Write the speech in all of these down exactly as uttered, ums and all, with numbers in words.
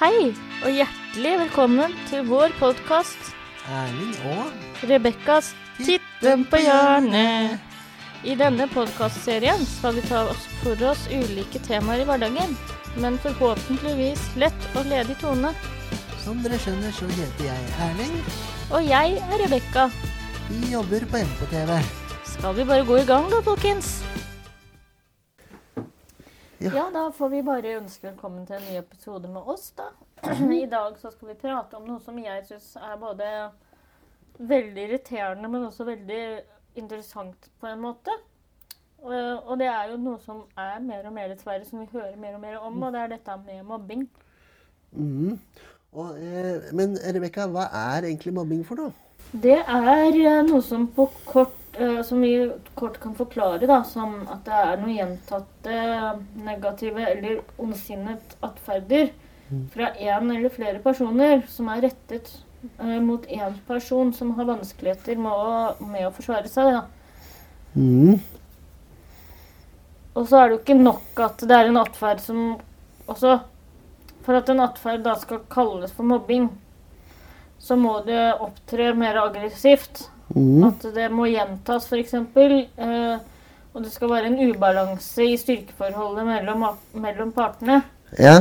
Hei, og hjertelig velkommen til vår podcast Erling og Rebekkas Titten på hjørnet. I denne podcastserien skal vi ta oss for oss ulike temaer i hverdagen, men forhåpentligvis lett og ledig tone. Som dere skjønner så heter jeg Erling. Og jeg er Rebekka. Vi jobber på M K T V. Skal vi bare gå i gang da, folkens? Ja. Ja, da får vi bare ønske velkommen til en ny episode med oss da. I dag så skal vi prate om noe som jeg synes er både veldig irriterende, men også veldig interessant på en måte. Og, og det er jo noe som er mer og mer dessverre, som vi hører mer og mer om, og det er dette med mobbing. Mm. Og, eh, men Rebekka, hva er egentlig mobbing for noe? Det er eh, noe som på kort som vi kort kan forklare da, som at det er noen gjentatte negative eller ondsinnet atferder fra en eller flere personer som er rettet uh, mot en person som har vanskeligheter med å, med å forsvare seg. Da. Mm. Og så er det jo ikke nok at det er en atferd som også, for at en atferd da skal kalles for mobbing, så må det opptre mer aggressivt. Mm. At det må gjentas for eksempel, eh, og det skal være en ubalanse i styrkeforholdet mellom, mellom partene. Ja.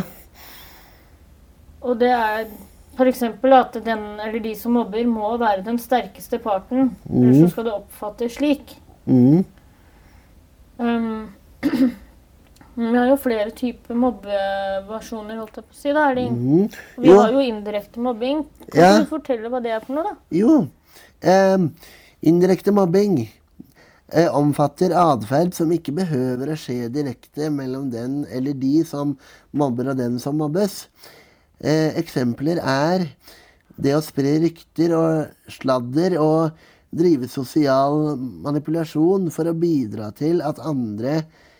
Og det er for eksempel at den eller de som mobber må være den sterkeste parten, Mm. eller så skal det oppfattes slik. Mm. Um, vi har jo flere typer mobbeversjoner, holdt jeg på å si, da, Erling. Mm. Vi Jo. har jo indirekte mobbing. Kan Ja. du fortelle hva det er for noe da? Jo. Eh, indirekte mobbing eh, omfatter adferd som ikke behøver å skje direkte mellom den eller de som mobber og den som mobbes. Eh, eksempler er det å spre rykter og sladder og drive sosial manipulasjon for å bidra til at andre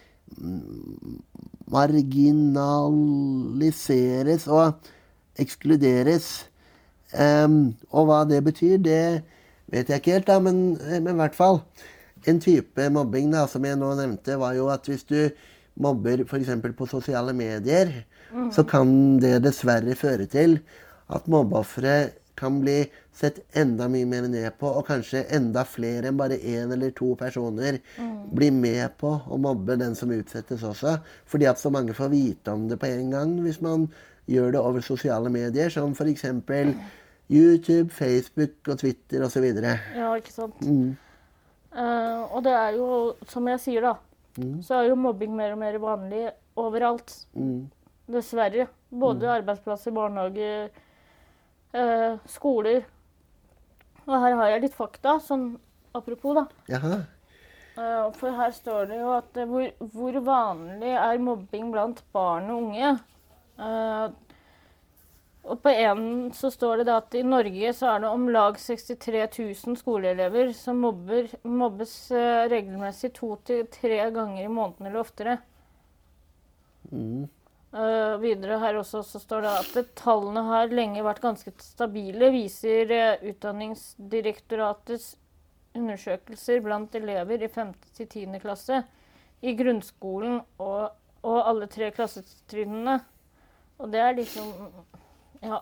marginaliseres og ekskluderes. Um, og hva det betyr, det vet jeg ikke helt da, men, men i hvert fall en type mobbing da, som jeg nå nevnte, var jo at hvis du mobber for eksempel på sosiale medier, mm. så kan det dessverre føre til at mobbeoffere kan bli sett enda mye mer ned på, og kanskje enda flere enn bare en eller to personer mm. blir med på å mobbe den som utsettes også, fordi at så mange får vite om det på en gang hvis man gjør det over sosiale medier, som for eksempel YouTube, Facebook og Twitter og så videre. Ja, ikke sant. Mm. Uh, og det er jo, som jeg sier da, mm. så er jo mobbing mer og mer vanlig overalt. Mm. Dessverre. Både mm. arbeidsplasser, barnehager, uh, skoler. Og her har jeg litt fakta, sånn apropos da. Jaha. Uh, for her står det jo at uh, hvor, hvor vanlig er mobbing blant barn og unge. Uh, og på en så står det da at i Norge så er det om lag sekstitre tusen skoleelever som mobber, mobbes uh, regelmessig to til tre ganger i måneden eller oftere. Mm. Uh, videre her også så står det at det, tallene har lenge vært ganske stabile, viser uh, Utdanningsdirektoratets undersøkelser blant elever i femte til tiende klasse i grunnskolen og, og alle tre klassetrinnene. Og det er liksom, ja.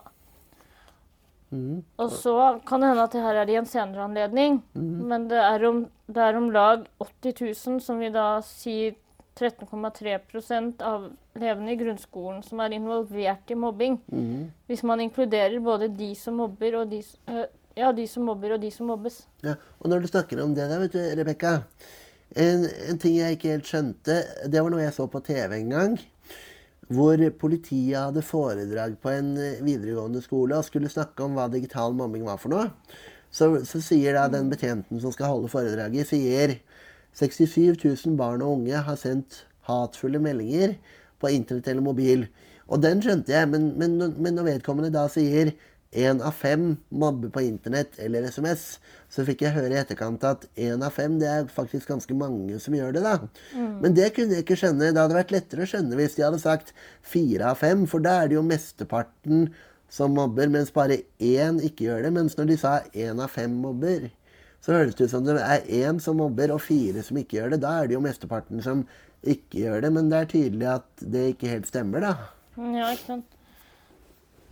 Mm. Og så kan det hende at det her er i en senere anledning, mm. men det er, om, det er om lag åtti tusen, som vi da sier tretten komma tre prosent av elevene i grunnskolen som er involvert i mobbing. Mm. Hvis man inkluderer både de som mobber og de, øh, ja, de som mobber og de som mobbes. Ja, og når du snakker om det da, vet du, Rebekka, en, en ting jeg ikke helt skjønte, det var noe jeg så på T V en gang, hvor politiet hadde foredrag på en videregående skole og skulle snakke om hva digital mobbing var for noe. Så, så sier da den betjenten som skal holde foredraget, sier sekstisju tusen barn og unge har sendt hatfulle meldinger på internett eller mobil. Og den skjønte jeg, men, men, men når vedkommende da sier en av fem mobber på internett eller sms, så fikk jeg høre i etterkant at en av fem, det er faktisk ganske mange som gjør det da. Mm. Men det kunne jeg ikke skjønne. Det hadde vært lettere å skjønne hvis de hadde sagt fire av fem, for da er det jo mesteparten som mobber, mens bare én ikke gjør det. Mens når de sa en av fem mobber, så høres det ut som det er én som mobber og fire som ikke gjør det. Da er det jo mesteparten som ikke gjør det, men det er tydelig at det ikke helt stemmer da. Ja, ikke sant.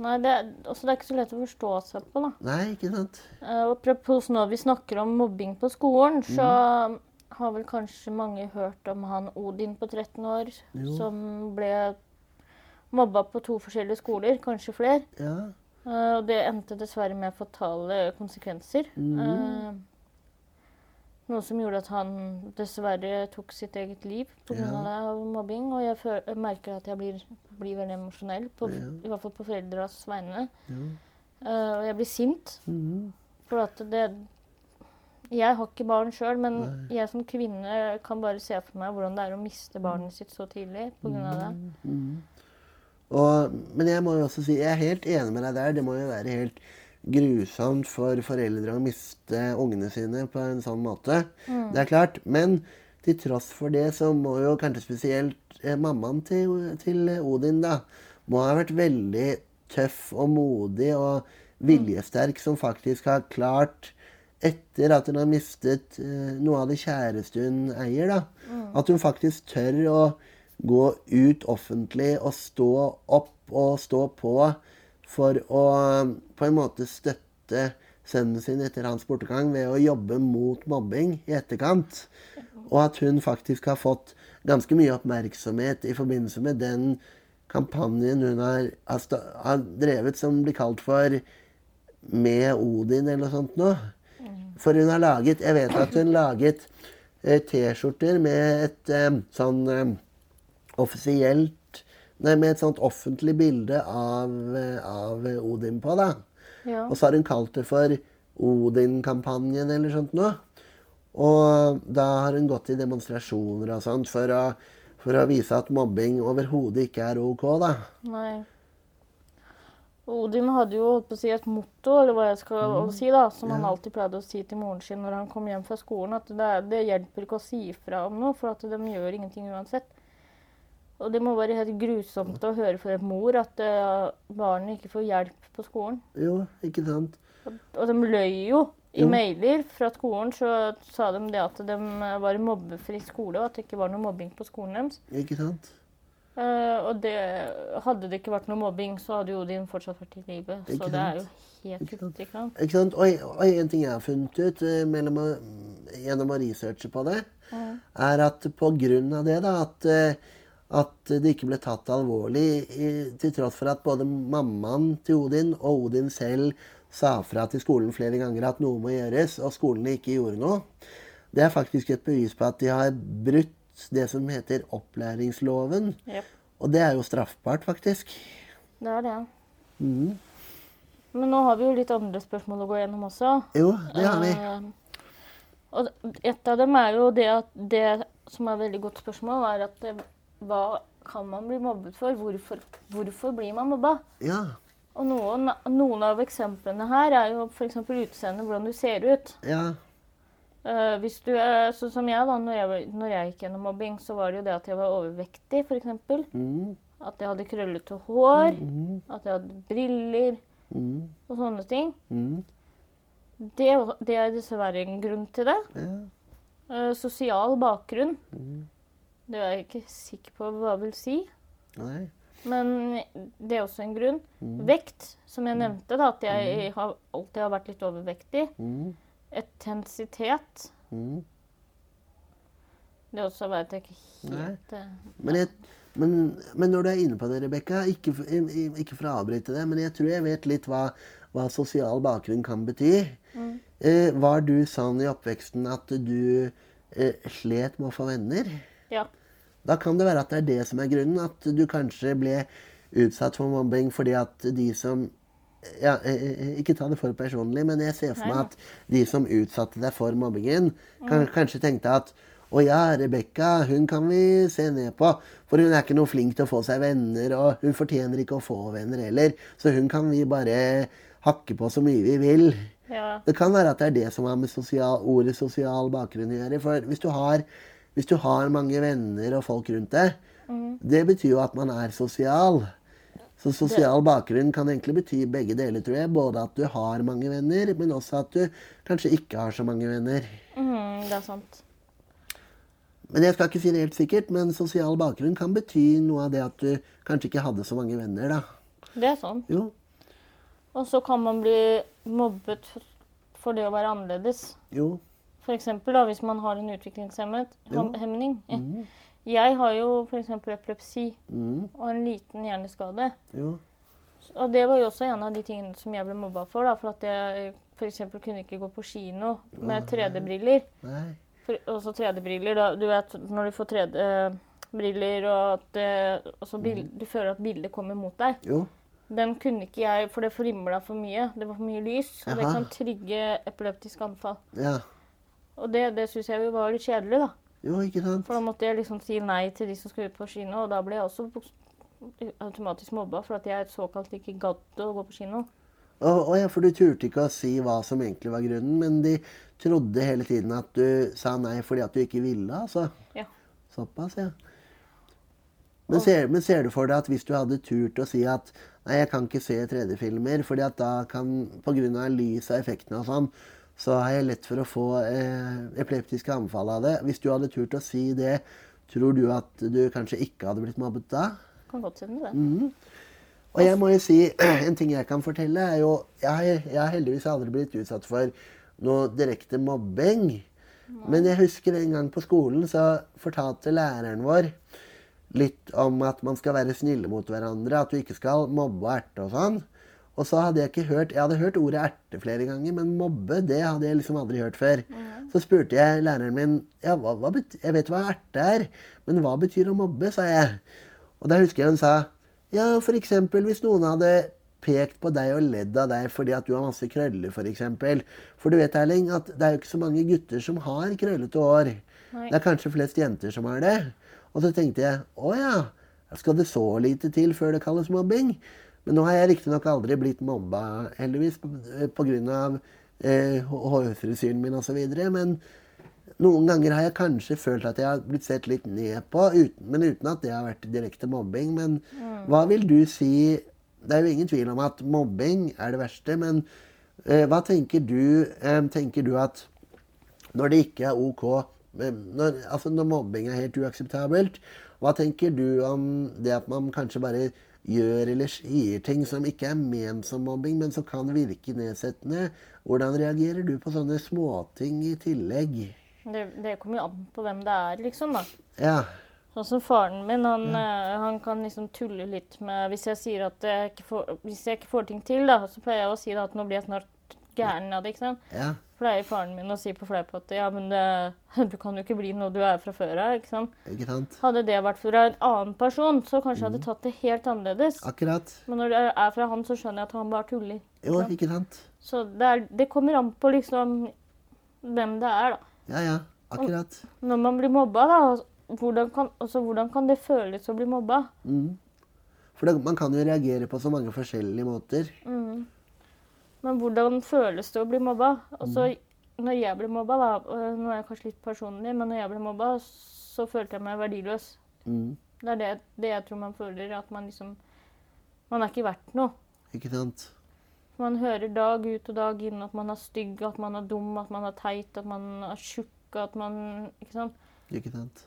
Nei, det er, også det er ikke så lett å forstå seg på, da. Nei, ikke sant? Uh, apropos når vi snakker om mobbing på skolen, så mm. har vel kanskje mange hørt om han Odin på tretten år, jo. Som ble mobba på to forskjellige skoler, kanskje flere. Ja. Uh, og det endte dessverre med fatale konsekvenser. Mm. Uh, noe som gjorde at han dessverre tok sitt eget liv på grunn av, ja. av mobbing. Og jeg, føler, jeg merker at jeg blir, blir veldig emosjonell, på, ja. i hvert fall på foreldres vegne. Ja. Uh, og jeg blir sint. Mm. For at det... Jeg har ikke barn selv, men Nei. Jeg som kvinne kan bare se for meg hvordan det er å miste barnet sitt så tidlig på grunn av det. Mm. Mm. Og, men jeg må jo også si, jeg er helt enig med deg der. Det må jo være helt grusomt for foreldre å miste ungene sine på en sånn måte. Mm. Det er klart. Men til tross for det så må jo kanskje spesielt eh, mammaen til, til Odin da, må ha vært veldig tøff og modig og viljesterk, som faktisk har klart, etter at hun har mistet eh, noe av det kjæreste hun eier, da, mm. at hun faktisk tør å gå ut offentlig og stå opp og stå på for å på en måte støtte sønnen sin etter hans bortegang ved å jobbe mot mobbing i etterkant. Og at hun faktisk har fått ganske mye oppmerksomhet i forbindelse med den kampanjen hun har, har drevet, som blir kalt for Med Odin eller noe sånt nå. For hun har laget, jeg vet at hun laget eh, T-skjorter med et eh, sånn eh, offisielt, nei, med et sånt offentlig bilde av, av Odin på, da. Ja. Og så har hun kalt det for Odin-kampanjen eller sånt nå. Og da har hun gått i demonstrasjoner og sånt for å, for å vise at mobbing overhodet ikke er ok, da. Nei. Odin hadde jo holdt på å si et motto, eller hva jeg skal mm. si da, som ja. Han alltid pleide å si til moren sin når han kom hjem fra skolen, at det, det hjelper ikke å si ifra om noe, for at de gjør ingenting uansett. Og det må være helt grusomt å høre fra en mor at uh, barnet ikke får hjelp på skolen. Jo, ikke sant. Og, og de løy jo i jo. mailer fra skolen, så sa de det at de var en mobbefri skole, og at det ikke var noe mobbing på skolen deres. Ikke sant. Uh, og det, hadde det ikke vært noe mobbing, så hadde jo Odin fortsatt vært i livet. Ikke så sant? Det er jo helt ikke sant. Ikke sant? Ikke sant? Og, og en ting jeg har funnet ut uh, mellom å, gjennom å researche på det, mm. er at på grunn av det da, at uh, at det ikke ble tatt alvorlig, til tross for at både mammaen til Odin og Odin selv sa fra til skolen flere ganger at noe må gjøres, og skolene ikke gjorde noe. Det er faktisk et bevis på at de har brutt det som heter opplæringsloven. Yep. Og det er jo straffbart, faktisk. Det er det. Mm. Men nå har vi jo litt andre spørsmål å gå gjennom også. Jo, det har vi. Uh, og et av dem er jo det at det som er et veldig godt spørsmål, er at det, hva kan man bli mobbet for? Hvorfor, hvorfor blir man mobba? Ja. Og noen, noen av eksemplene her er jo for eksempel utseendet, hvordan du ser ut. Ja. Uh, hvis du er, sånn som jeg da, når jeg, når jeg gikk gjennom mobbing, så var det jo det at jeg var overvektig, for eksempel. Mm. At jeg hadde krøllete hår, mm. at jeg hadde briller, mm. og sånne ting. Mm. Det, det er dessverre en grunn til det. Ja. Uh, sosial bakgrunn. Mm. Det er jeg ikke sikker på hva jeg vil si. Nei. Men det er også en grunn. Mm. Vekt, som jeg nevnte, da, at jeg mm. har, alltid har vært litt overvektig. Mm. Etnisitet. Mm. Det også vet jeg ikke helt... Nei. Men, jeg, men, men når du er inne på det, Rebecca, ikke, ikke for å avbryte det, men jeg tror jeg vet litt hva, hva sosial bakgrunn kan bety. Mm. Eh, var du sånn i oppveksten at du eh, slet med å få venner? Ja. Da kan det være at det er det som er grunnen, at du kanskje ble utsatt for mobbing fordi at de som, ja, ikke ta det for personlig, men jeg ser for meg at de som utsatte deg for mobbingen, kan, kanskje tenkte at, å ja, Rebecca, hun kan vi se ned på, for hun er ikke noe flink til å få seg venner, og hun fortjener ikke å få venner heller, så hun kan vi bare hakke på så mye vi vil. Ja. Det kan være at det er det som har med sosial, ordet sosial bakgrunn å gjøre, for hvis du har Hvis du har mange venner og folk rundt deg, mm. det betyr jo at man er sosial. Så sosial det. bakgrunn kan egentlig bety begge deler, tror jeg. Både at du har mange venner, men også at du kanskje ikke har så mange venner. Mm, det er sant. Men jeg skal ikke si det helt sikkert, men sosial bakgrunn kan bety noe av det at du kanskje ikke hadde så mange venner, da. Det er sant. Jo. Og så kan man bli mobbet for det å være annerledes. Jo. For eksempel da, hvis man har en utviklingshemning. Mm. Jeg har jo for eksempel epilepsi Mm. og en liten hjerneskade. Jo. Og det var jo også en av de tingene som jeg ble mobba for, da, for at jeg for eksempel kunne ikke gå på kino med tre D-briller. Nei. For, også tre D-briller, da, du vet, når du får tre D-briller, og, at, det- og så bil, du føler at bildet kommer mot deg. Jo. Den kunne ikke jeg, for det frimla for mye. Det var for mye lys, og det Jaha. kan trigge epileptisk anfall. Ja. Og det, det synes jeg jo var litt kjedelig, da. Jo, ikke sant? For da måtte jeg liksom si nei til de som skulle ut på kino, og da ble jeg også automatisk mobba, for at jeg såkalt ikke gadd å gå på kino. Og, og ja, for du turte ikke å si hva som egentlig var grunnen, men de trodde hele tiden at du sa nei fordi at du ikke ville, altså. Ja. Såpass, ja. Men ser, men ser du for deg at hvis du hadde turt å si at nei, jeg kan ikke se tre D-filmer, fordi at da kan, på grunn av lys og effektene og sånn, så har jeg lett for å få eh, epileptiske anfall av det. Hvis du hadde turt å si det, tror du at du kanskje ikke hadde blitt mobbet da? Kan godt hende det. Mm. Og jeg må jo si, en ting jeg kan fortelle er jo, jeg har, jeg har heldigvis aldri blitt utsatt for noe direkte mobbing. Men jeg husker en gang på skolen så fortalte læreren vår litt om at man skal være snille mot hverandre, at du ikke skal mobbe og erte og sånn. Og så hadde jeg ikke hørt, jeg hadde hørt ordet erte flere ganger, men mobbe, det hadde jeg liksom aldri hørt før. Mm. Så spurte jeg læreren min, ja, hva, hva betyr, jeg vet hva erte er, men hva betyr å mobbe, sa jeg. Og da husker jeg hun sa, ja, for eksempel hvis noen hadde pekt på deg og ledd av deg fordi at du har masse krøller, for eksempel. For du vet, Erling, at det er jo ikke så mange gutter som har krøllete hår. Nei. Det er kanskje flest jenter som har det. Og så tenkte jeg, å ja, skal det så lite til før det kalles mobbing? Men nå har jeg riktig nok aldri blitt mobba, heldigvis, på, på grunn av eh, hårfrisyren min og så videre. Men noen ganger har jeg kanskje følt at jeg har blitt sett litt ned på, uten, men uten at det har vært direkte mobbing. Men mm. hva vil du si, det er jo ingen tvil om at mobbing er det verste, men eh, hva tenker du, eh, tenker du at når det ikke er ok, når, altså når mobbing er helt uakseptabelt, hva tenker du om det at man kanskje bare gjør eller sier ting som ikke er ment som mobbing, men som kan virke nedsettende? Hvordan reagerer du på sånne småting i tillegg? Det, det kommer jo an på hvem det er, liksom, da. Ja. Sånn som faren min, han, ja. han kan liksom tulle litt med, hvis jeg sier at jeg ikke får, hvis jeg ikke får ting til, da, så pleier jeg å si da, at nå blir jeg snart gæren av det, ikke sant? Ja. Pleier faren min å si på fleip at ja, men det, du kan jo ikke bli noe du er fra før av, ikke sant? Ikke sant? Hadde det vært fra en annen person, så kanskje jeg hadde tatt det helt annerledes. Akkurat. Men når det er fra han, så skjønner jeg at han bare tuller. Jo, ikke sant? Så det, er, det kommer an på liksom hvem det er, da. Ja, ja, akkurat. Og når man blir mobba, da, hvordan kan, altså, hvordan kan det føles å bli mobba? Mm. For det, man kan jo reagere på så mange forskjellige måter. Mm. Men hvordan føles det å bli mobba? Altså, mm. når jeg ble mobba, da, nå er jeg kanskje litt personlig, men når jeg ble mobba, så følte jeg meg verdiløs. Mm. Det er det, det jeg tror man føler, at man liksom, man er ikke verdt noe. Ikke sant? Man hører dag ut og dag inn at man er stygg, at man er dum, at man er teit, at man er tjukk, at man, ikke sant? Ikke sant?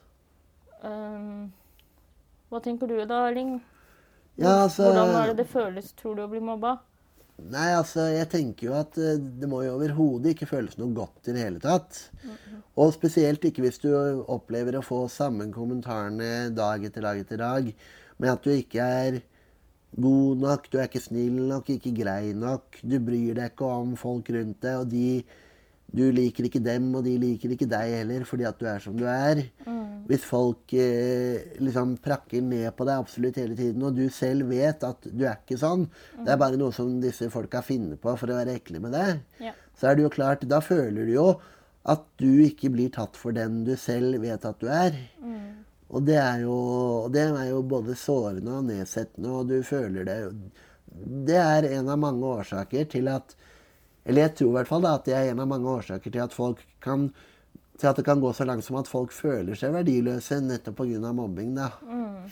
Um, hva tenker du da, Erling? Ja, altså... Hvordan er det det føles, tror du, å bli mobba? Nei, altså, jeg tenker jo at uh, det må jo overhodet ikke føles noe godt i det hele tatt. Mm-hmm. Og spesielt ikke hvis du opplever å få samme kommentarene dag etter dag etter dag, med at du ikke er god nok, du er ikke snill nok, ikke grei nok, du bryr deg ikke om folk rundt deg, og de, du liker ikke dem, og de liker ikke deg heller, fordi at du er som du er. Mm. Hvis folk eh, liksom prakker ned på deg absolutt hele tiden, og du selv vet at du er ikke sånn, mm. det er bare noe som disse folka finner på for å være ekle med deg, ja. Så er det jo klart, da føler du jo at du ikke blir tatt for den du selv vet at du er. Mm. Og det er, jo, det er jo både sårende og nedsettende, og du føler det. Det er en av mange årsaker til at, eller jeg tror i hvert fall da, at det er en av mange årsaker til at folk kan, til at det kan gå så langt som at folk føler seg verdiløse nettopp på grunn av mobbing, da. Mm.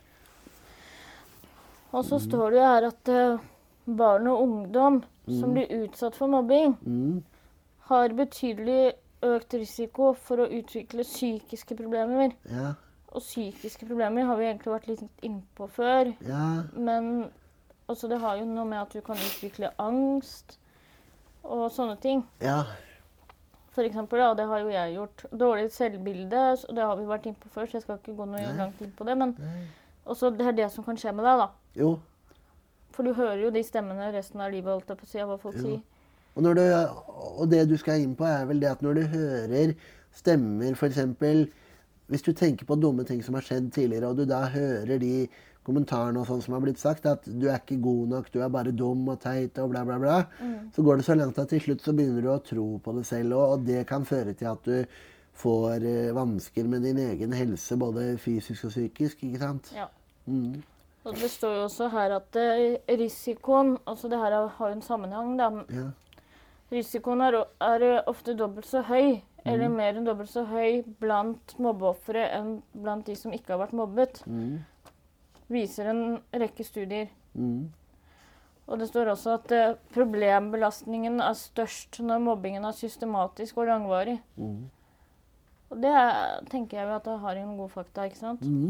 Og så mm. står det jo her at uh, barn og ungdom mm. som blir utsatt for mobbing, mm. har betydelig økt risiko for å utvikle psykiske problemer. Ja. Og psykiske problemer har vi egentlig vært litt innpå før. Ja. Men altså det har jo noe med at du kan utvikle angst og sånne ting. Ja. For eksempel, da, det har jo jeg gjort. Dårlig selvbilde, så det har vi vært inne på før, så jeg skal ikke gå noe langt inn på det, men også det er det som kan skje med deg, da. Jo. For du hører jo de stemmene resten av livet, holdt jeg på å si, av hva folk Jo. sier. Og, når du, og det du skal inn på er vel det at når du hører stemmer, for eksempel, hvis du tenker på dumme ting som har skjedd tidligere, og du da hører de kommentarene og sånn som har blitt sagt, at du er ikke god nok, du er bare dum og teit og bla bla bla, mm. så går det så langt at til slutt så begynner du å tro på det selv, og, og det kan føre til at du får eh, vansker med din egen helse, både fysisk og psykisk, ikke sant? Ja. Mm. Og det står jo også her at eh, risikoen, altså det her har jo en sammenheng da, Ja. risikoen er, er ofte dobbelt så høy, mm. eller mer enn dobbelt så høy blant mobbeoffere enn blant de som ikke har vært mobbet. Mm. Viser en rekke studier. Mm. Og det står også at eh, problembelastningen er størst når mobbingen er systematisk og langvarig. Mm. Og det er, tenker jeg jo at det har en god fakta, ikke sant? Mm.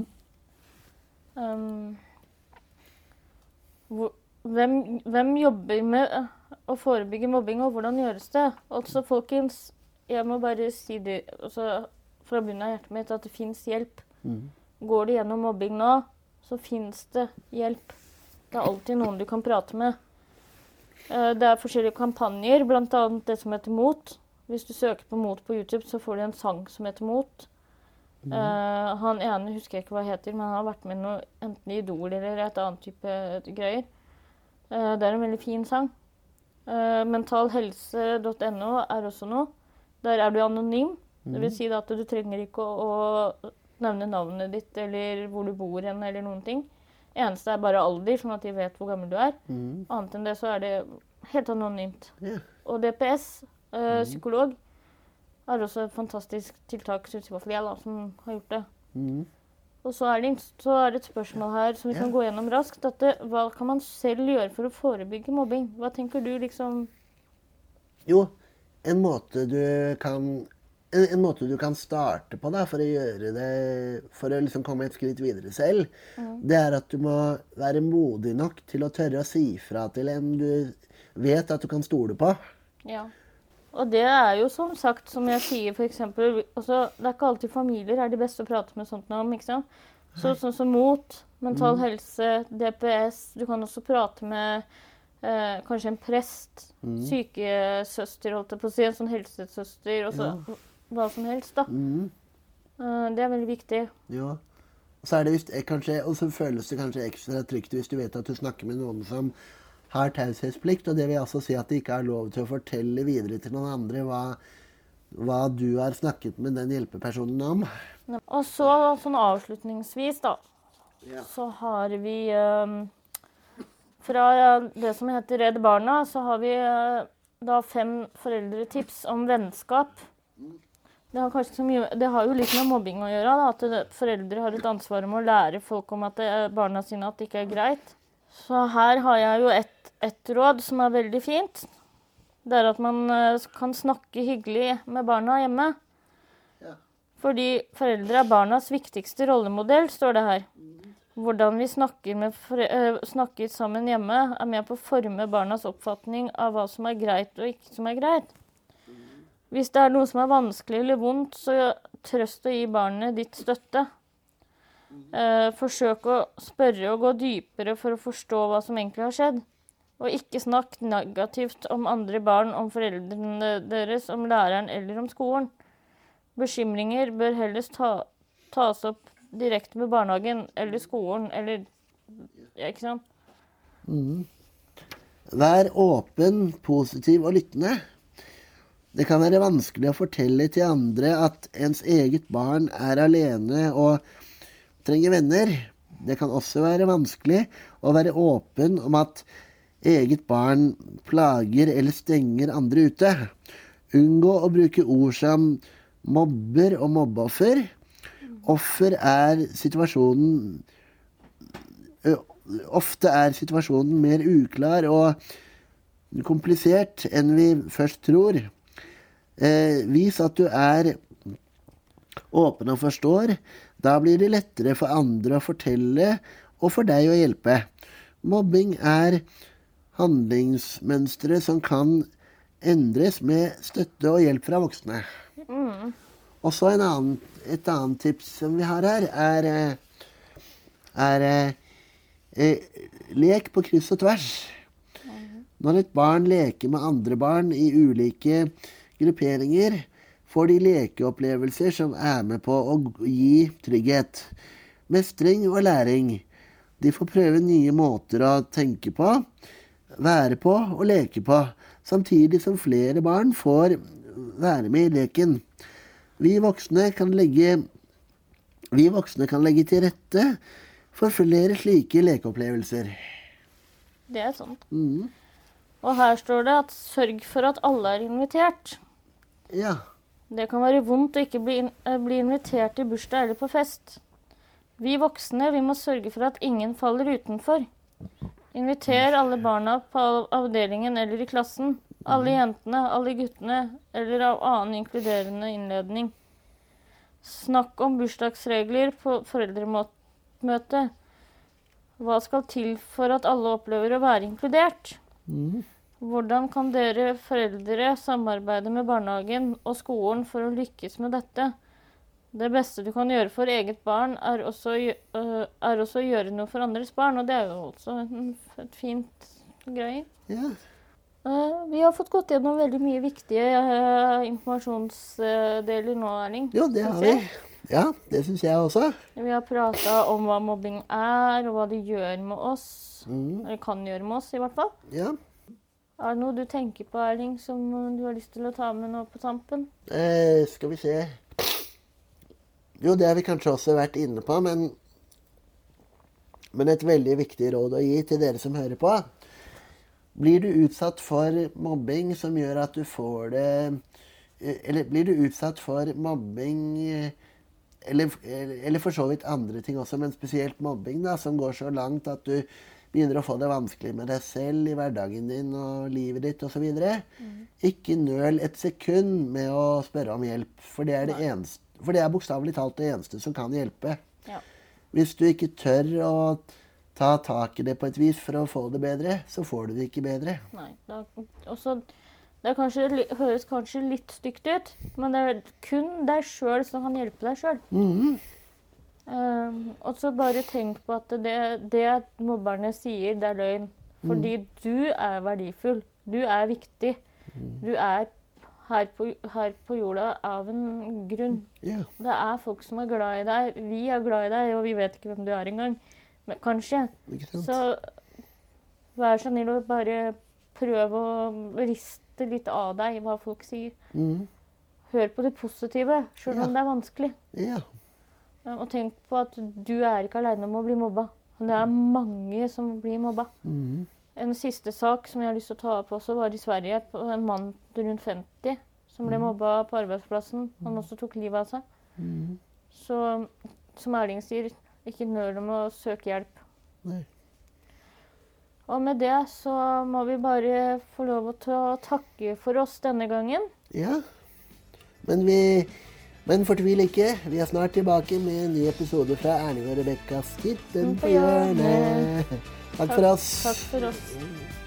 Um, hvor, hvem, hvem jobber med å forebygge mobbing, og hvordan gjøres det? Altså, folkens, jeg må bare si det altså, fra bunnen av hjertet mitt at det finnes hjelp. Mm. Går du gjennom mobbing nå, så finnes det hjelp. Det er alltid noen du kan prate med. Det er forskjellige kampanjer, blant annet det som heter Mot. Hvis du søker på Mot på YouTube, så får du en sang som heter Mot. Mm. Uh, han ene husker jeg ikke hva han heter, men han har vært med noe, enten i Idol eller et annet type greier. Uh, det er en veldig fin sang. Uh, mentalhelse punktum no er også noe. Der er du anonym. Mm. Det vil si at du trenger ikke å, å nevne navnet ditt, eller hvor du bor hen, eller noen ting. Eneste er bare alder, sånn at de vet hvor gammel du er. Mm. Annet enn det så er det helt anonymt. Yeah. Og D P S, uh, mm. psykolog, er også et fantastisk tiltak, synes i hvert fall jeg da, som har gjort det. Mm. Og så er, det, så er det et spørsmål her som vi yeah. kan gå gjennom raskt. At det, hva kan man selv gjøre for å forebygge mobbing? Hva tenker du liksom? Jo, en måte du kan... En, en måte du kan starte på da, for å gjøre det, for å liksom komme et skritt videre selv, mm. det er at du må være modig nok til å tørre å si fra til en du vet at du kan stole på. Ja, og det er jo som sagt, som jeg sier for eksempel, også, det er ikke alltid familier er de beste å prate med sånt om, ikke sant? Så, sånn som Mot, mental mm. helse, D P S, du kan også prate med eh, kanskje en prest, mm. sykesøster, holdt jeg på å si, en sånn helsesøster, og så... Ja. Hva som helst, da. Mm. Uh, det er veldig viktig. Ja. Og så, er det just, kanskje, og så føles det kanskje ekstra trygt hvis du vet at du snakker med noen som har taushetsplikt, og det vil altså si at de ikke har lov til å fortelle videre til noen andre hva, hva du har snakket med den hjelpepersonen om. Og så, sånn avslutningsvis, da, ja. så har vi um, fra det som heter Redd Barna, så har vi uh, da fem foreldretips om vennskap. Det har, kanskje så mye, det har jo litt med mobbing å gjøre, da, at det, foreldre har et ansvar om å lære folk om at det er barna sine at det ikke er greit. Så her har jeg jo et, et råd som er veldig fint. Det er at man uh, kan snakke hyggelig med barna hjemme. Ja. Fordi foreldre er barnas viktigste rollemodell, står det her. Hvordan vi snakker, med uh, snakker sammen hjemme er med på å forme barnas oppfatning av hva som er greit og ikke som er greit. Hvis det er noe som er vanskelig eller vondt, så trøst å gi barnet ditt støtte. Eh, forsøk å spørre og gå dypere for å forstå hva som egentlig har skjedd. Og ikke snakk negativt om andre barn, om foreldrene deres, om læreren eller om skolen. Bekymringer bør helst ta, tas opp direkte med barnehagen eller skolen, eller ja, ikke sant? Mm. Vær åpen, positiv og lyttende. Det kan være vanskelig å fortelle til andre at ens eget barn er alene og trenger venner. Det kan også være vanskelig å være åpen om at eget barn plager eller stenger andre ute. Unngå å bruke ord som mobber og mobbeoffer. Offer er situasjonen Ofte er situasjonen mer uklar og komplisert enn vi først tror. Eh, vis at du er åpen og forstår. Da blir det lettere for andre å fortelle og for deg å hjelpe. Mobbing er handlingsmønstre som kan endres med støtte og hjelp fra voksne. Mm. Og så en annen, et annet tips som vi har her, er, er eh, lek på kryss og tvers. Mm. Når et barn leker med andre barn i ulike grupperinger, får de lekeopplevelser som er med på å gi trygghet, mestring og læring. De får prøve nye måter å tenke på, være på og leke på, samtidig som flere barn får være med i leken. Vi voksne kan legge, vi voksne kan legge til rette for flere slike lekeopplevelser. Det er sant. Mm. Og her står det at sørg for at alle er invitert. Ja. Det kan være vondt å ikke bli, in bli invitert i bursdag eller på fest. Vi voksne, vi må sørge for at ingen faller utenfor. Inviter alle barna på avdelingen eller i klassen. Alle jentene, alle guttene, eller av annen inkluderende innledning. Snakk om bursdagsregler på foreldremøte. Hva skal til for at alle opplever å være inkludert? Mm. Hvordan kan dere foreldre samarbeide med barnehagen og skolen for å lykkes med dette? Det beste du kan gjøre for eget barn er også, uh, er også å gjøre noe for andres barn, og det er jo også en, et fint greie. Ja. Uh, vi har fått gått gjennom veldig mye viktige uh, informasjonsdeler nå, Erling. Jo, det har vi. Ja, det synes jeg også. Vi har pratet om hva mobbing er, og hva det gjør med oss. Mm. Eller kan gjøre med oss, i hvert fall. Ja. Er det noe du tenker på, Erling, som du har lyst til å ta med nå på tampen? Eh, skal vi se. Jo, det har vi kanskje også vært inne på, men, men et veldig viktig råd å gi til dere som hører på. Blir du utsatt for mobbing som gjør at du får det, eller blir du utsatt for mobbing, eller, eller for så vidt andre ting også, men spesielt mobbing da, som går så langt at du begynner å få det vanskelig med deg selv i hverdagen din og livet ditt og så videre. Mm. Ikke nøl et sekund med å spørre om hjelp, for det er det eneste. For det er bokstavelig talt det eneste som kan hjelpe. Ja. Hvis du ikke tør å ta tak i det på et vis for å få det bedre, så får du det ikke bedre. Nei, da, også, det er kanskje, høres kanskje litt stygt ut, men det er kun deg selv som kan hjelpe deg selv. Mm-hmm. um, og så bare tenk på at det, det mobberne sier, det er løgn. Fordi mm. du er verdifull. Du er viktig. Mm. Du er Her på, her på jorda av en grunn. Yeah. Det er folk som er glad i deg. Vi er glad i deg, og vi vet ikke hvem du er engang. Men kanskje. Så vær så snill og bare prøv å riste litt av deg hva folk sier. Mm. Hør på det positive, selv om yeah. det er vanskelig. Yeah. Og tenk på at du er ikke alene om å bli mobba. Det er mange som blir mobba. Mm. En siste sak som jeg har lyst til å ta opp også var i Sverige, på en mann rundt femti som ble mobba på arbeidsplassen. Han også tok livet av seg. Mm. Så som Erling sier, ikke nøl om å søke hjelp. Nei. Og med det så må vi bare få lov å ta, takke for oss denne gangen. Ja, men vi men fortvil ikke. Vi er snart tilbake med en ny episode fra Erling og Rebekkas Titten på hjørnet. Takk for oss. Takk for oss.